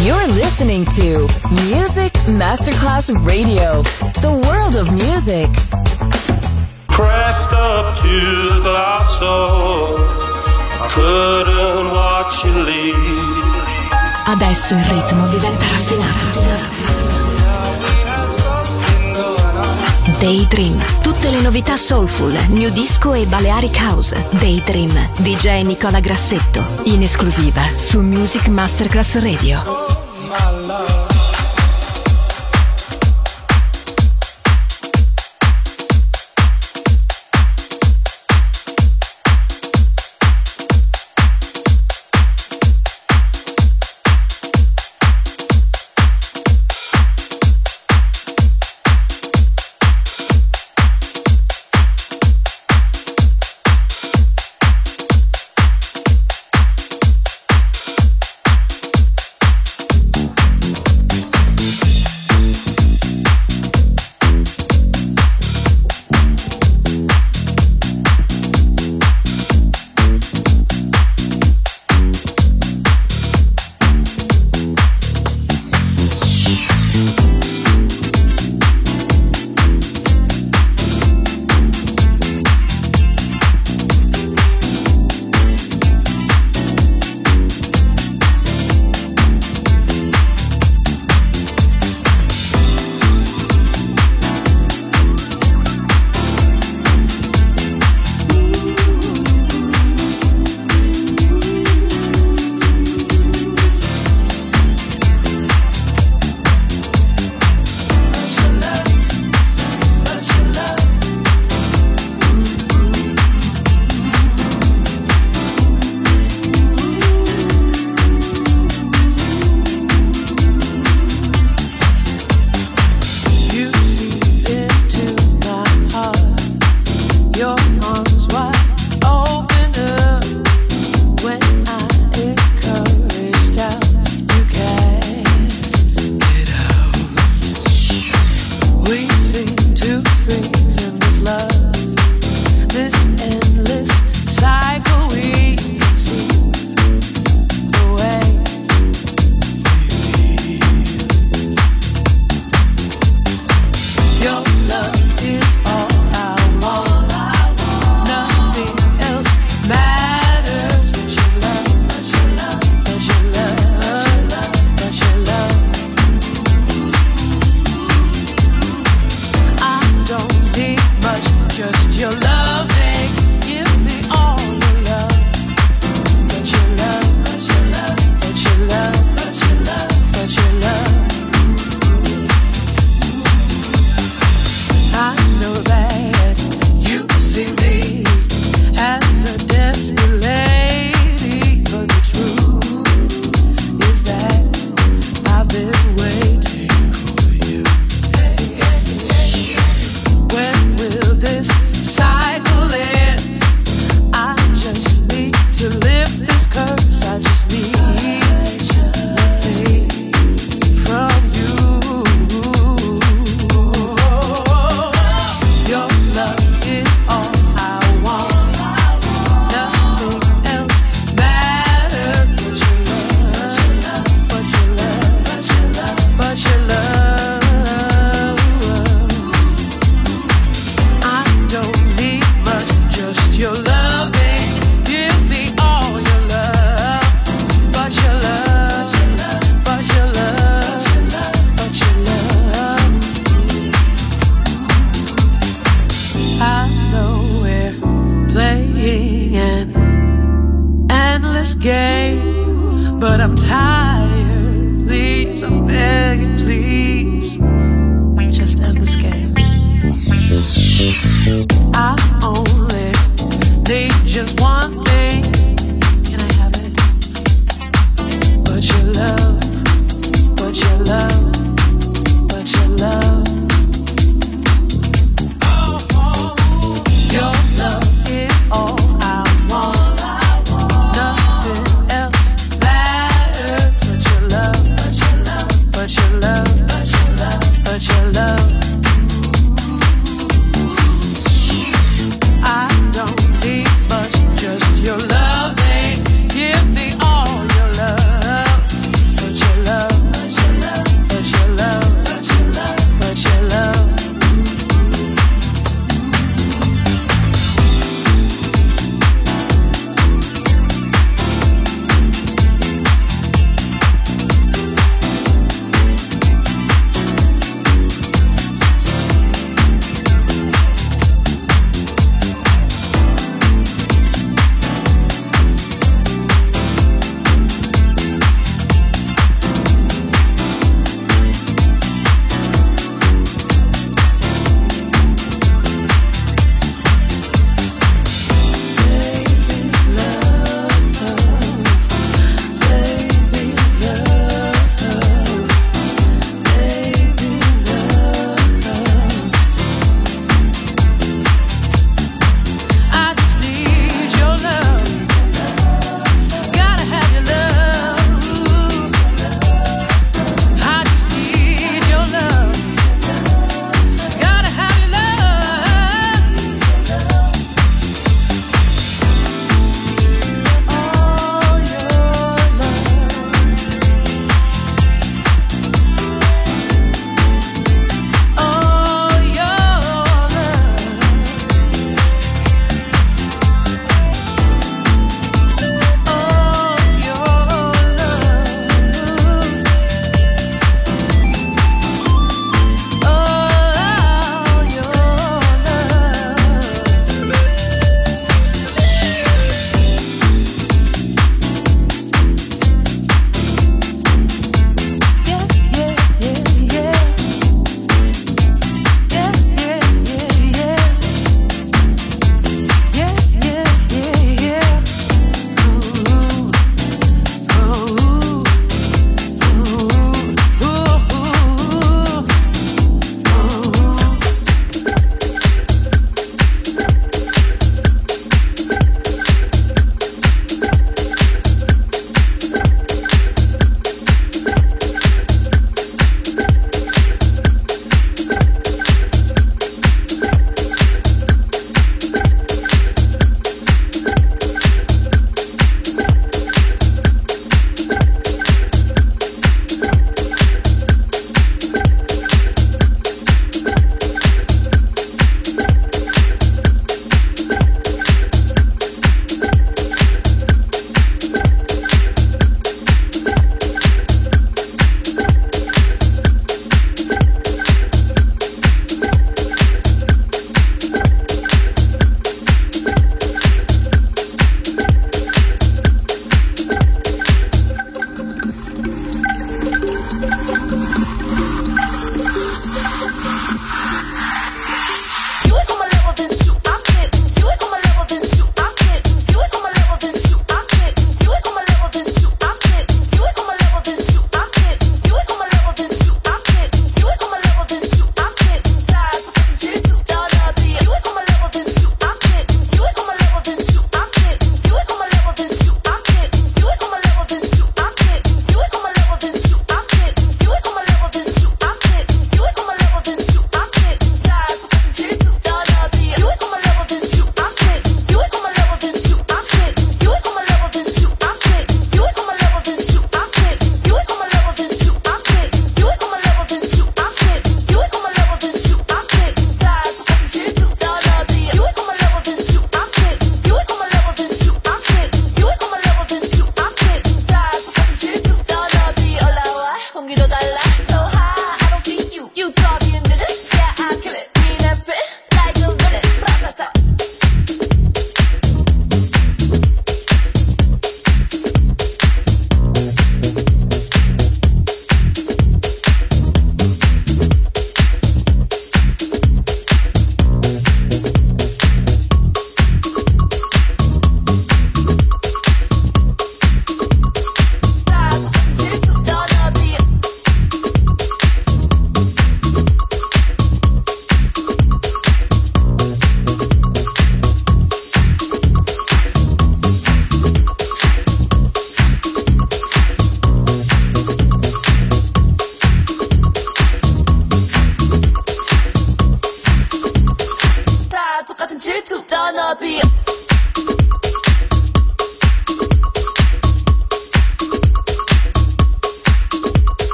You're listening to Music Masterclass Radio, the world of music. Pressed up to the glass door, I couldn't watch you leave. Adesso il ritmo diventa raffinato. Daydream, tutte le novità soulful, new disco e Balearic House. Daydream, DJ Nicola Grassetto, in esclusiva su Music Masterclass Radio.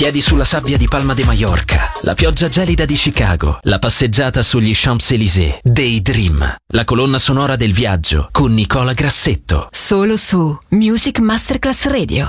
piedi sulla sabbia di Palma de Mallorca, la pioggia gelida di Chicago, la passeggiata sugli Champs-Élysées. Daydream, la colonna sonora del viaggio con Nicola Grassetto. Solo su Music Masterclass Radio.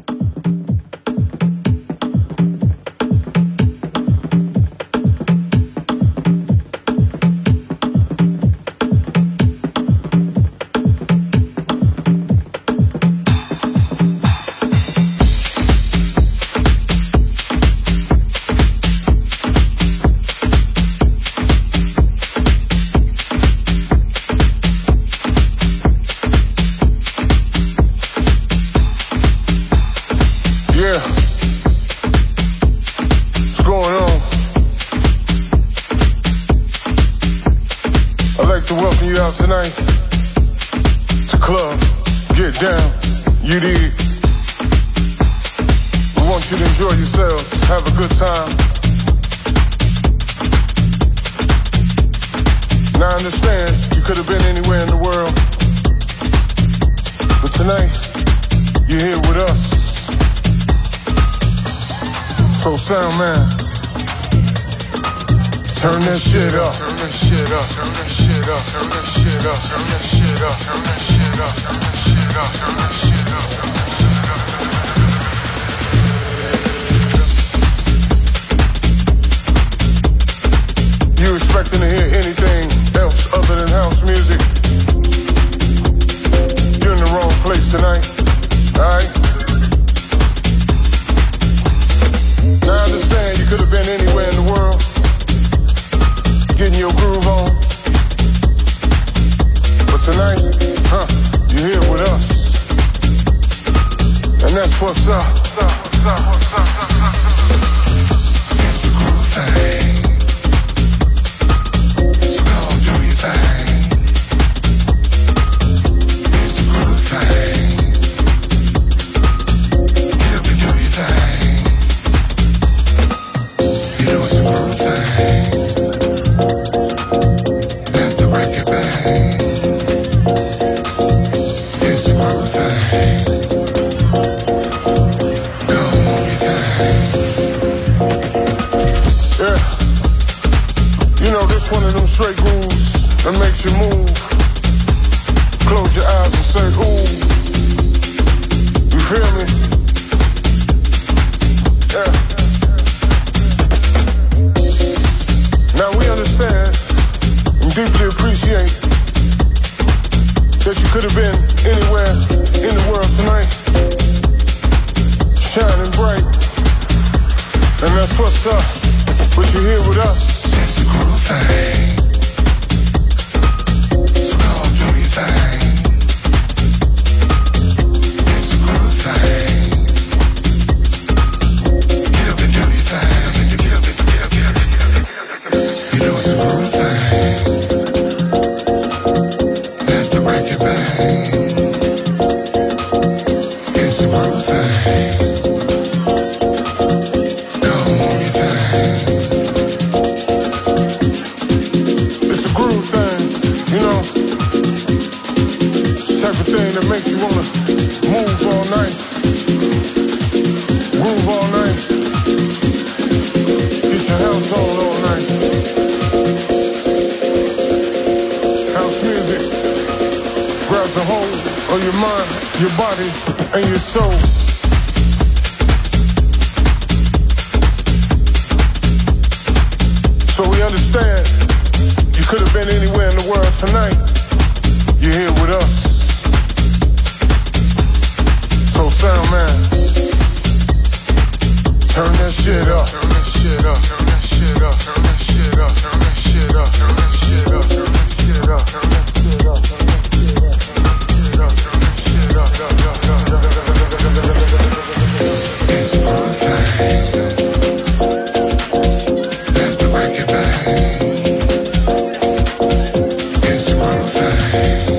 Tonight to club, get down, you dig. We want you to enjoy yourselves, have a good time. Now I understand you could have been anywhere in the world, but tonight you're here with us. So sound man, turn that shit up, turn that shit up, turn that shit up, turn that shit up, turn that shit up, turn that shit up, turn that shit up, turn that shit up, turn that shit up. You expecting to hear anything else other than house music? You're in the wrong place tonight, alright? Now I understand you could have been anywhere in the world, getting your groove on. But tonight, you're here with us. And that's what's up. It's the groove thing. So go on, do your thing. It's the groove thing. Get up and do your thing. You know it's the groove thing. One of them straight grooves that makes you move. Close your eyes and say, ooh. You feel me? Yeah. Now we understand and deeply appreciate that you could have been anywhere in the world tonight, shining bright. And that's what's up, but you're here with us. It's the groove thing. So go on, do your thing. It's the groove thing. Get up and do your thing. Get up and get up, get up, get up, get up. You know it's the groove thing. Have to break your bang. It's the groove thing. Go on, move your thing. That makes you wanna move all night, groove all night, get your house on all night. House music grabs a hold of your mind, your body, and your soul. So we understand you could have been anywhere in the world tonight. You're here with us. So sound man, turn that shit up, turn that shit up, turn that shit up, turn that shit up, turn that shit up, turn that shit up, turn that shit up, turn that shit up, turn that shit up, turn that shit up, turn that shit up. It's the groove thing. Have to break it back. It's the groove thing.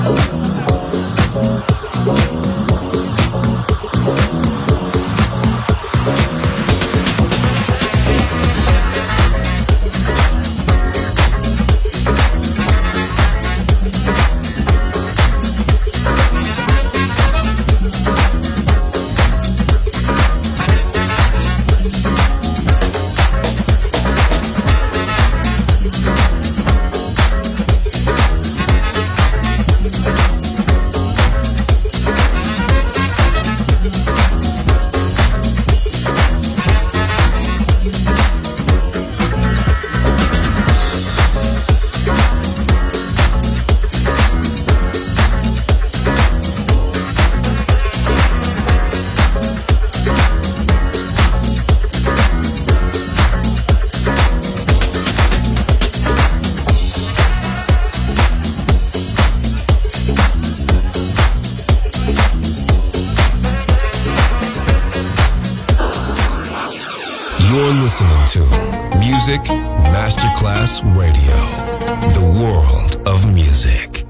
You're listening to Music Masterclass Radio, the world of music.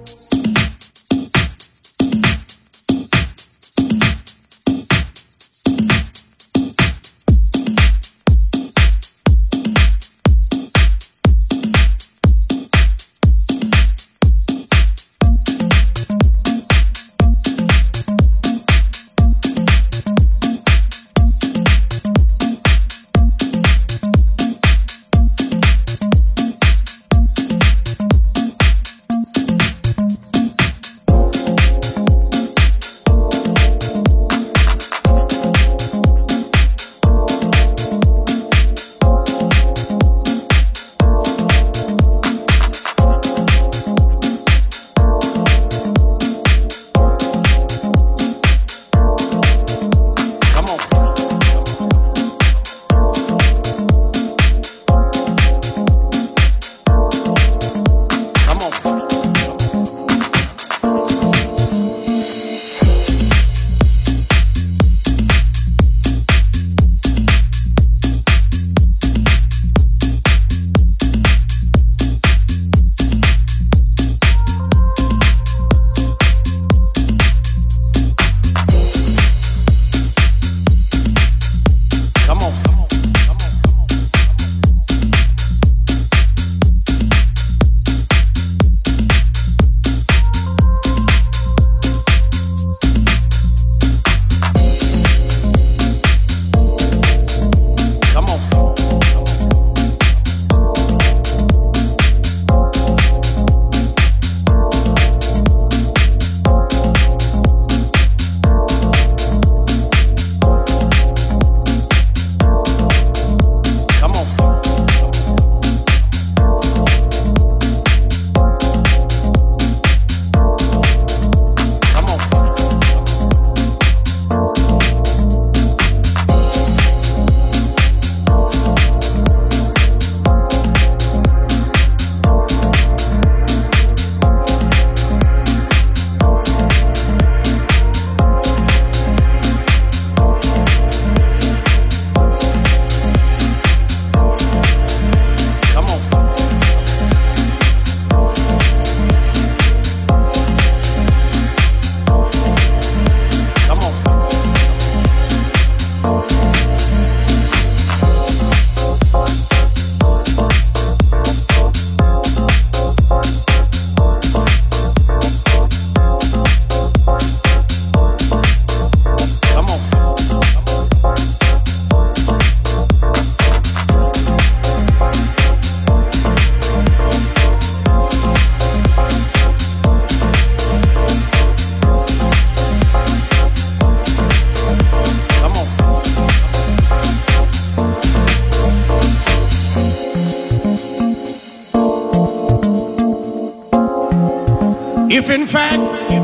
If in fact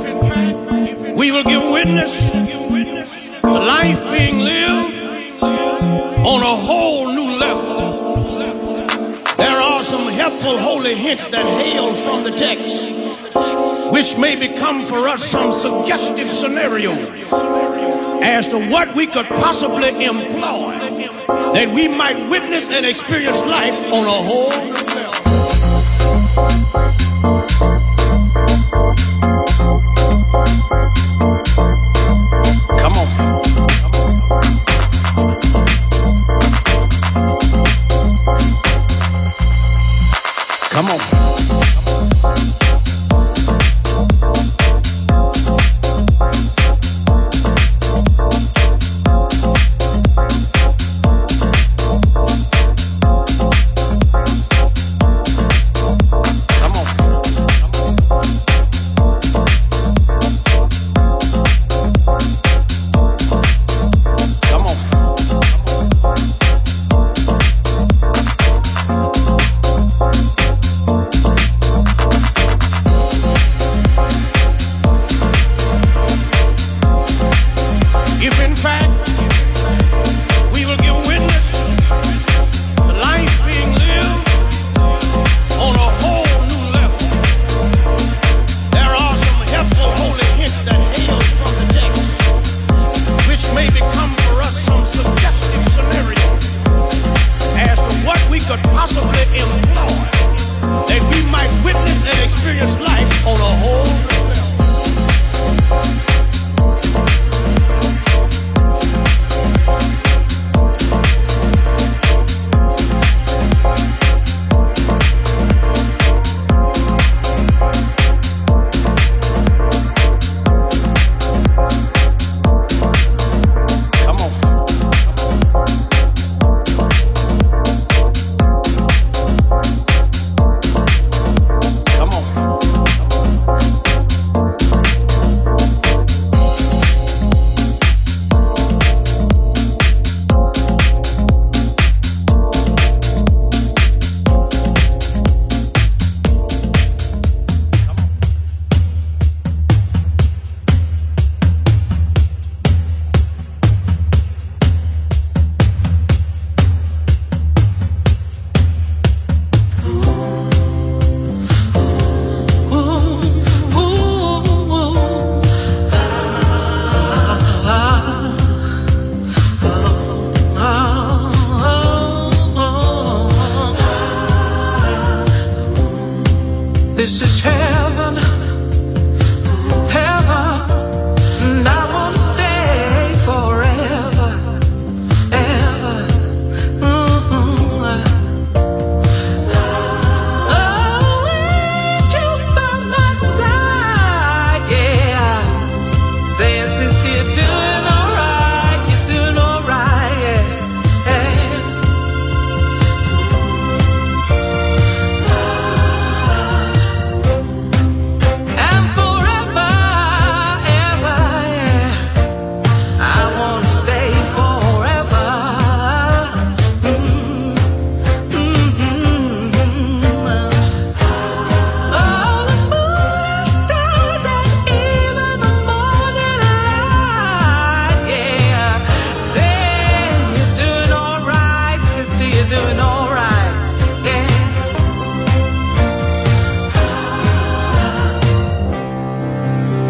we will give witness to life being lived on a whole new level, there are some helpful holy hints that hail from the text, which may become for us some suggestive scenarios as to what we could possibly employ that we might witness and experience life on a whole new level.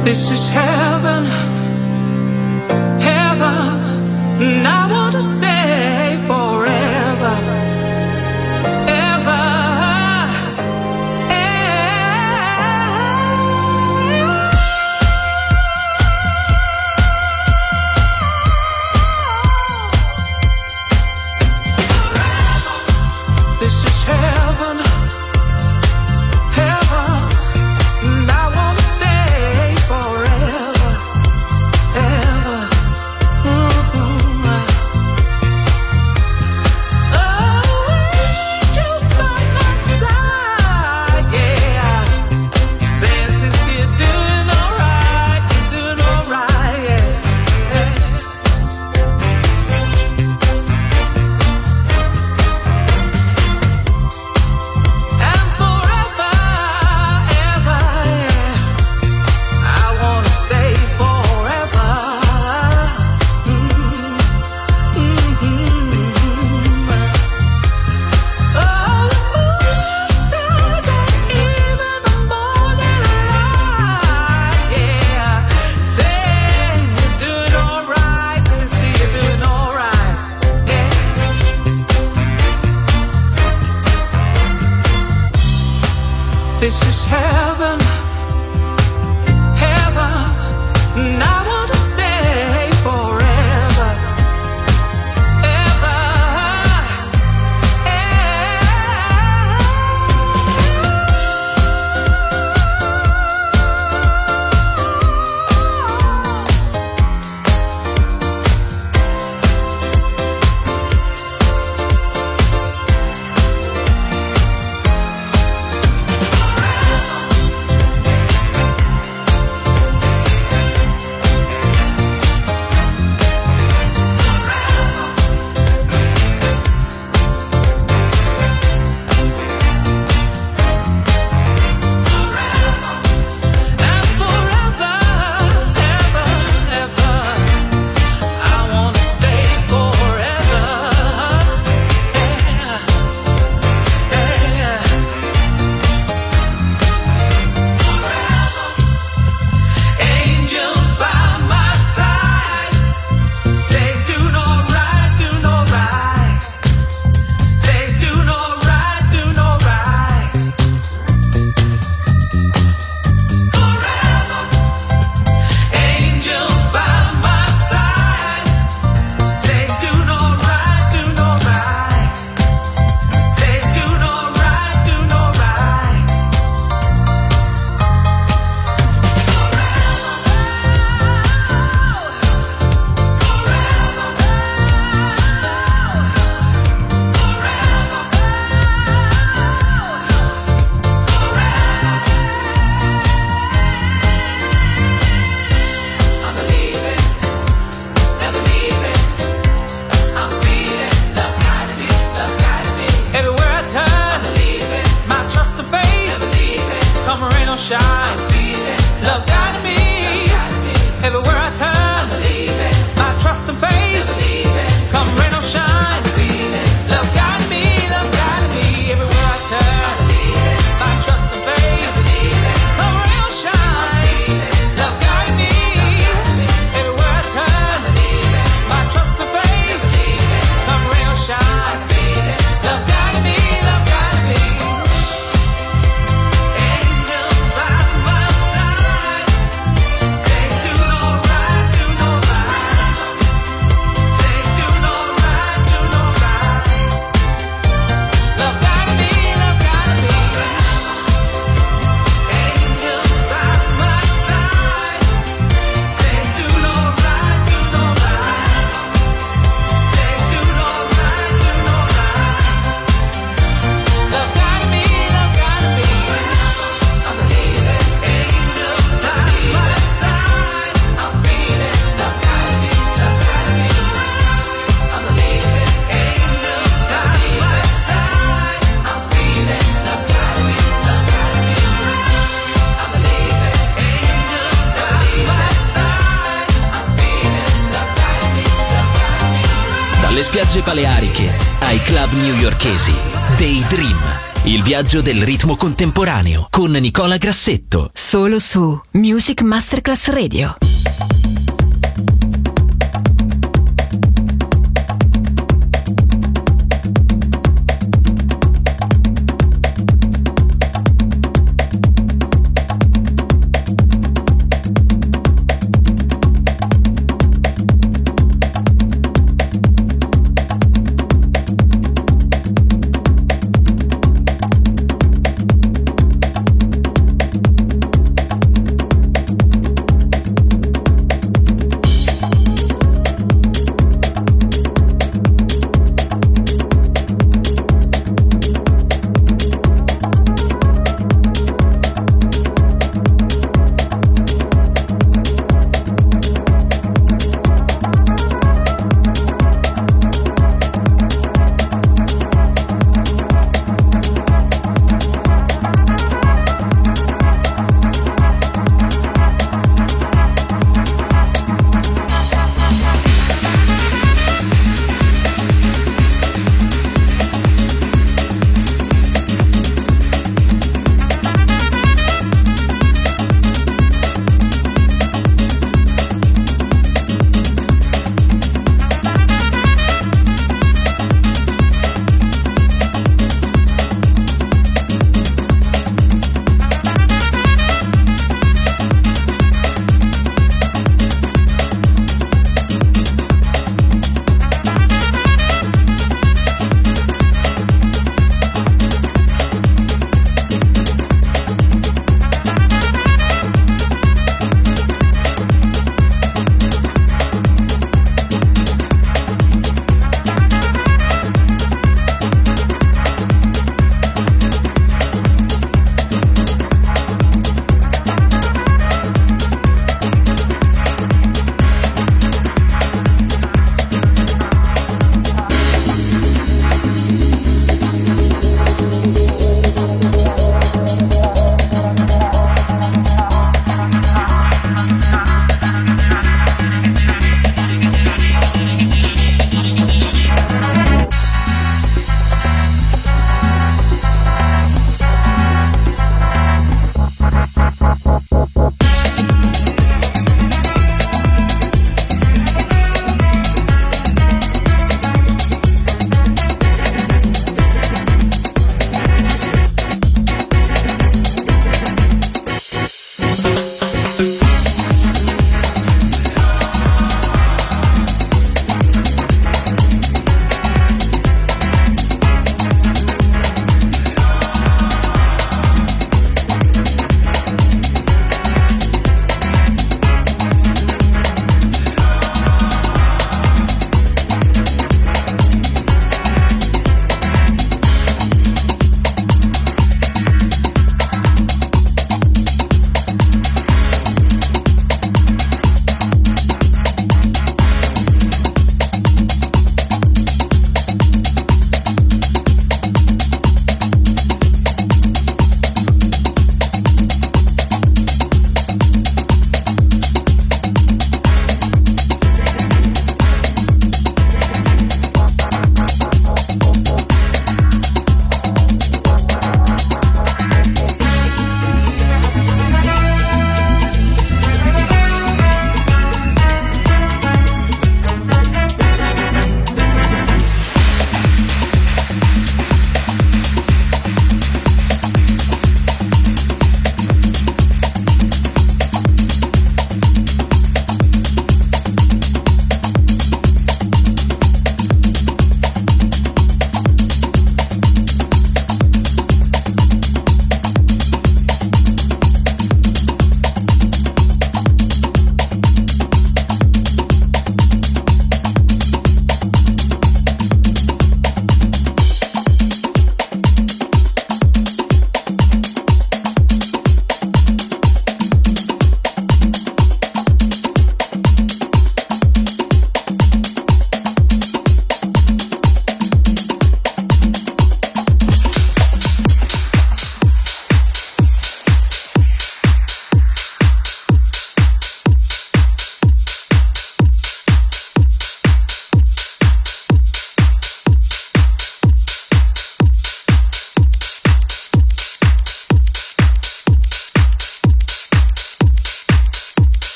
This is heaven, heaven, and I want to stay forever, ever, This is heaven, heaven, and I want to stay forever, ever. Just by my side, yeah. Saying, sister, you're doing alright, yeah. And forever, ever, yeah. I wanna stay forever. Oh, stars and even the morning light, yeah. Saying you're doing alright, sister, you're doing alright, yeah. This is heaven, heaven, and I want to stay forever, ever, and forever, ever, ever. I want to stay forever, yeah, yeah. Angels by my side, say do no right, do no right. Say do no right, do no right. Forever, angels by my side, say do no right, do no right. Say do no right, do no right. I'm believing, never leaving. I'm feeling love guiding me, love guiding me. Everywhere I turn, I'm believing, my trust and faith, never leaving. Come rain or shine, I'm feeling love guiding me, love guiding me. Everywhere I turn, I'm believing, my trust and faith, never leaving. Come rain or shine, I'm feeling love guiding me, love guiding me. Everywhere I turn, I'm believing, my trust and faith, never leaving. Come rain or shine, love guiding me. Everywhere I turn, I'm believing, my trust and faith, never leaving. Come rain or shine, I'm feeling love guiding me, love guiding me. Angels by my side, say do no right, do no right. Say do no right, do no right. Love guiding me, love guiding me. Angels by my side, say do no right, do no right. Say do no right, do no right. Love guiding me, love guiding me. I'm believing, angels by my side. I'm feeling love guiding me, love guiding me. I'm believing, angels by my side. I'm feeling love guiding me, love guiding me. I'm believing, angels by my side. I'm feeling love guiding me, love guiding me. Dalle spiagge baleariche ai club newyorkesi, Daydream il viaggio del ritmo contemporaneo con Nicola Grassetto. Solo su Music Masterclass Radio.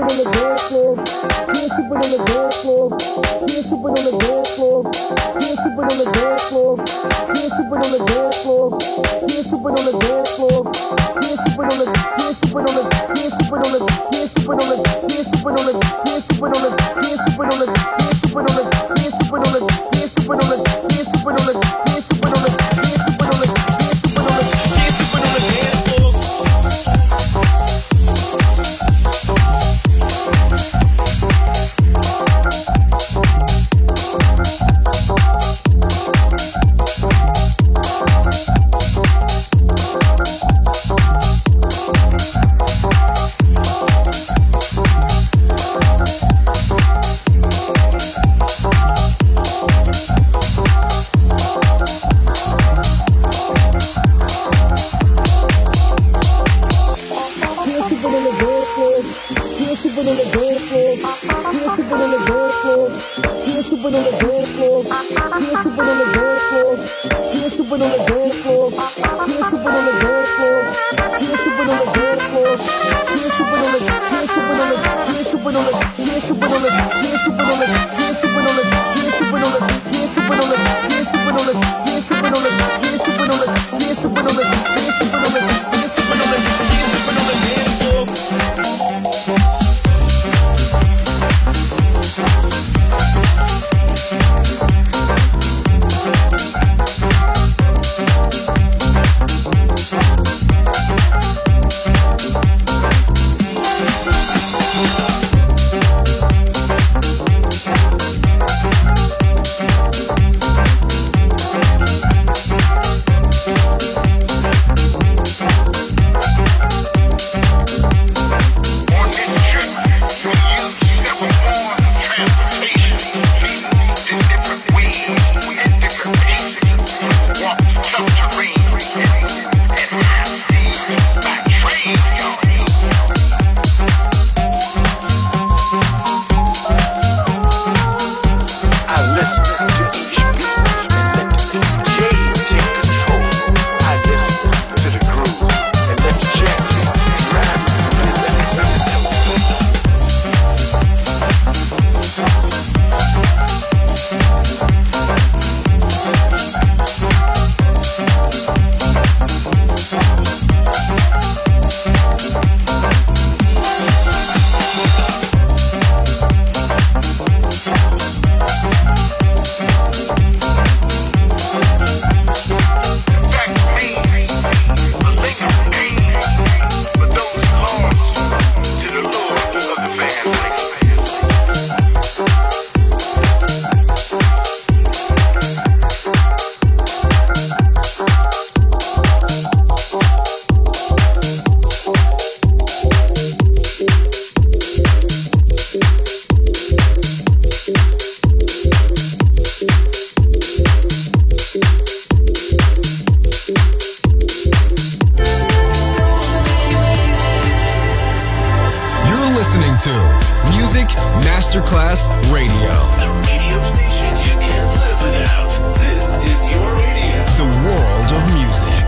to Music Masterclass Radio. The radio station you can't live without. This is your radio. The world of music.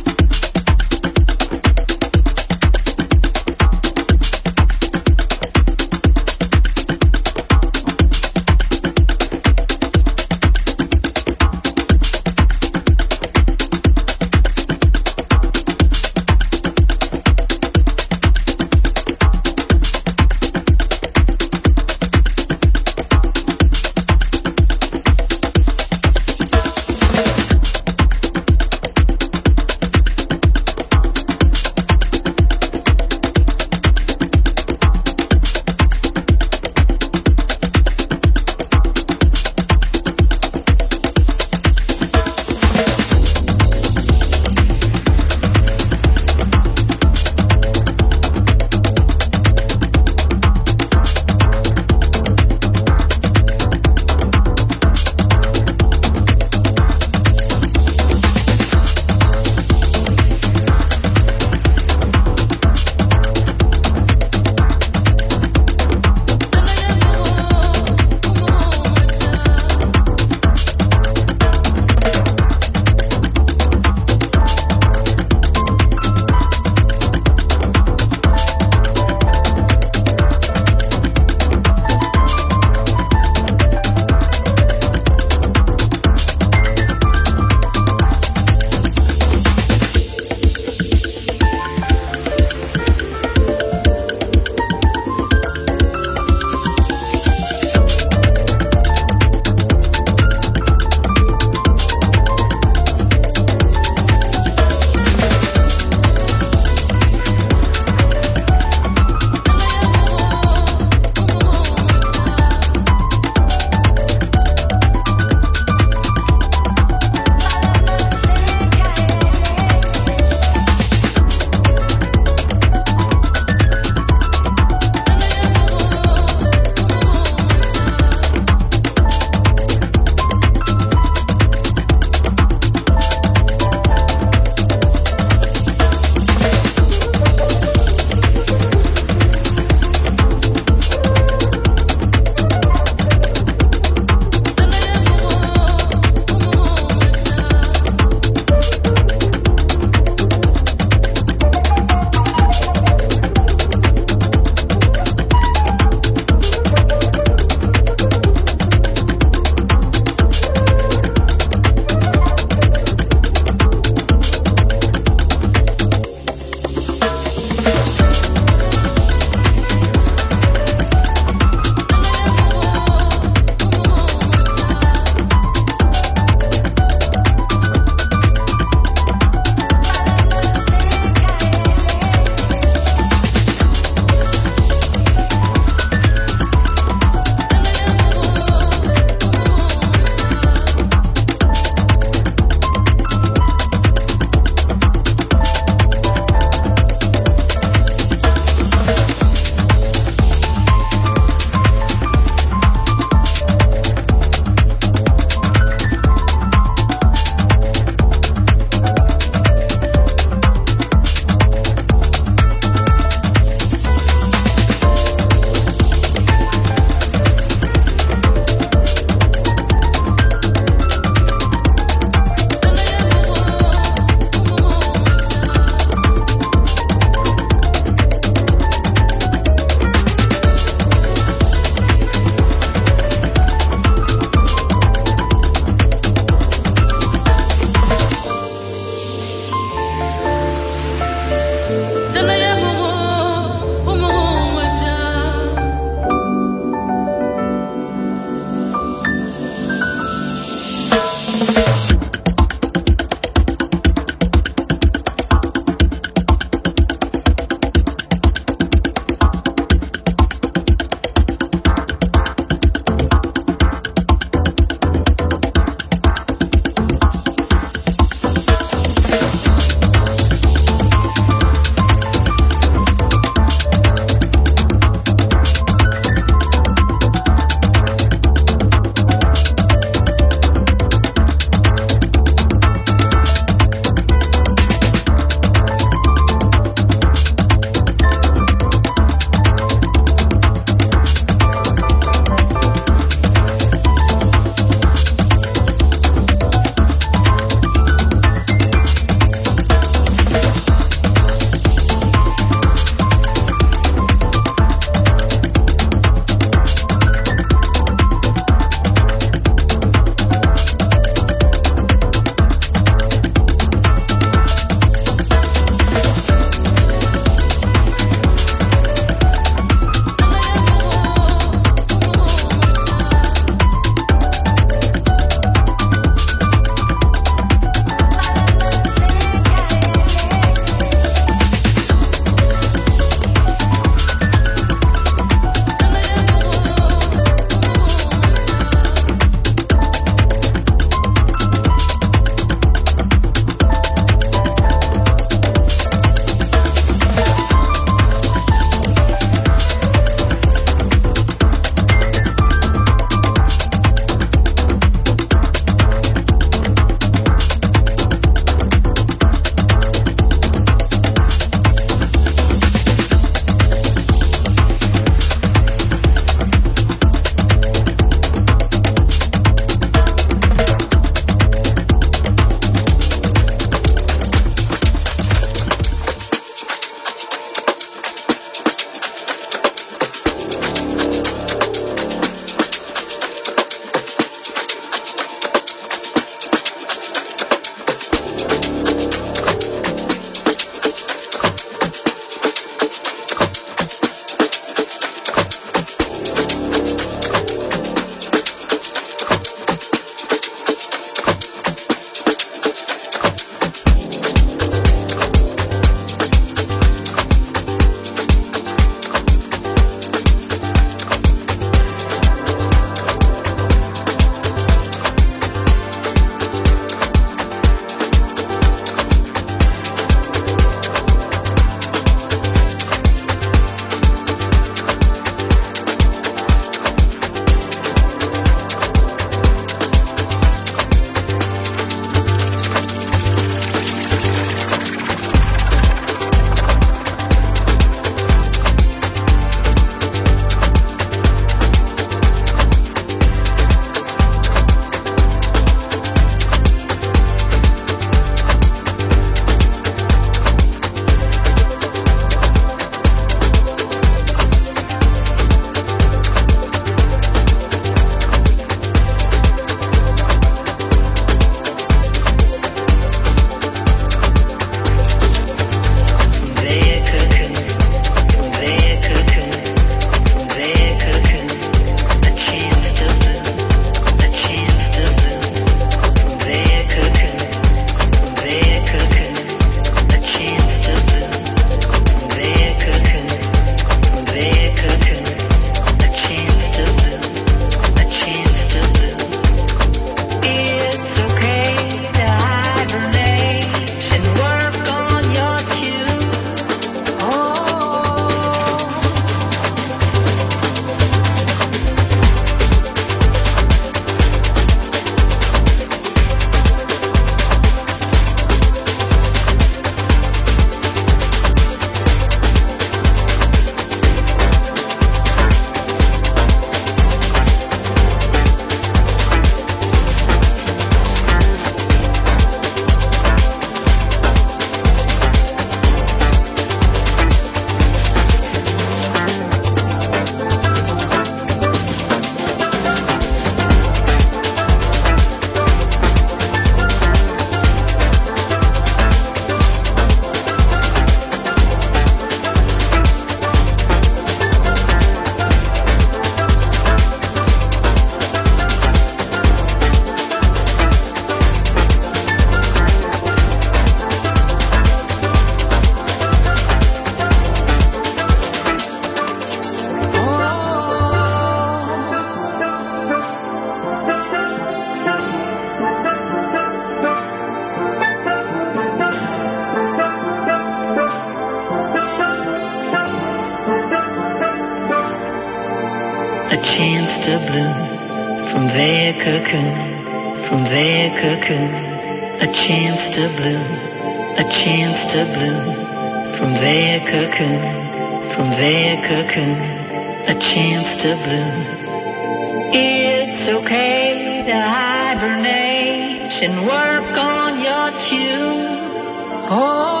to bloom from their cocoon, from their cocoon. A chance to bloom, a chance to bloom from their cocoon, from their cocoon. A chance to bloom. It's okay to hibernate and work on your tune. Oh.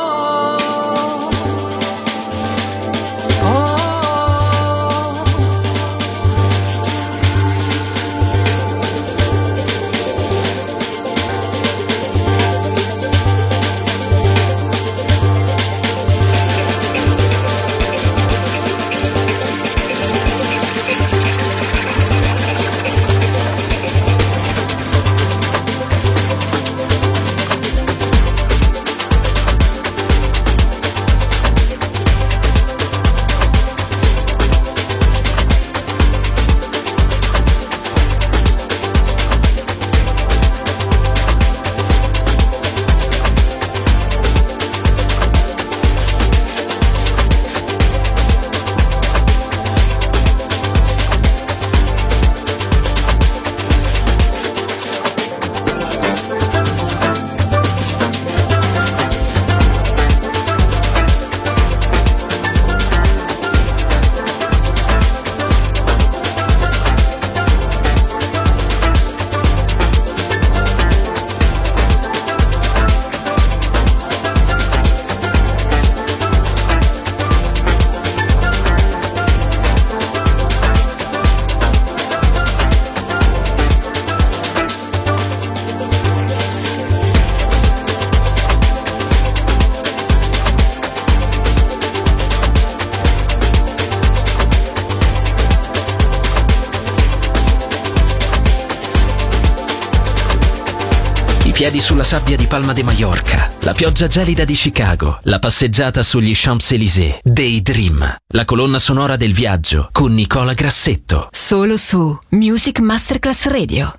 Piedi sulla sabbia di Palma de Mallorca, la pioggia gelida di Chicago, la passeggiata sugli Champs-Élysées, Daydream, la colonna sonora del viaggio con Nicola Grassetto. Solo su Music Masterclass Radio.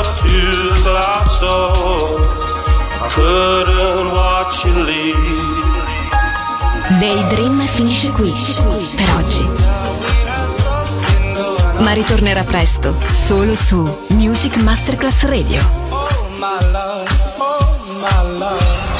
to the glass door. I couldn't watch you leave. Daydream finisce qui per oggi, ma ritornerà presto solo su Music Masterclass Radio. Oh my love, oh my love.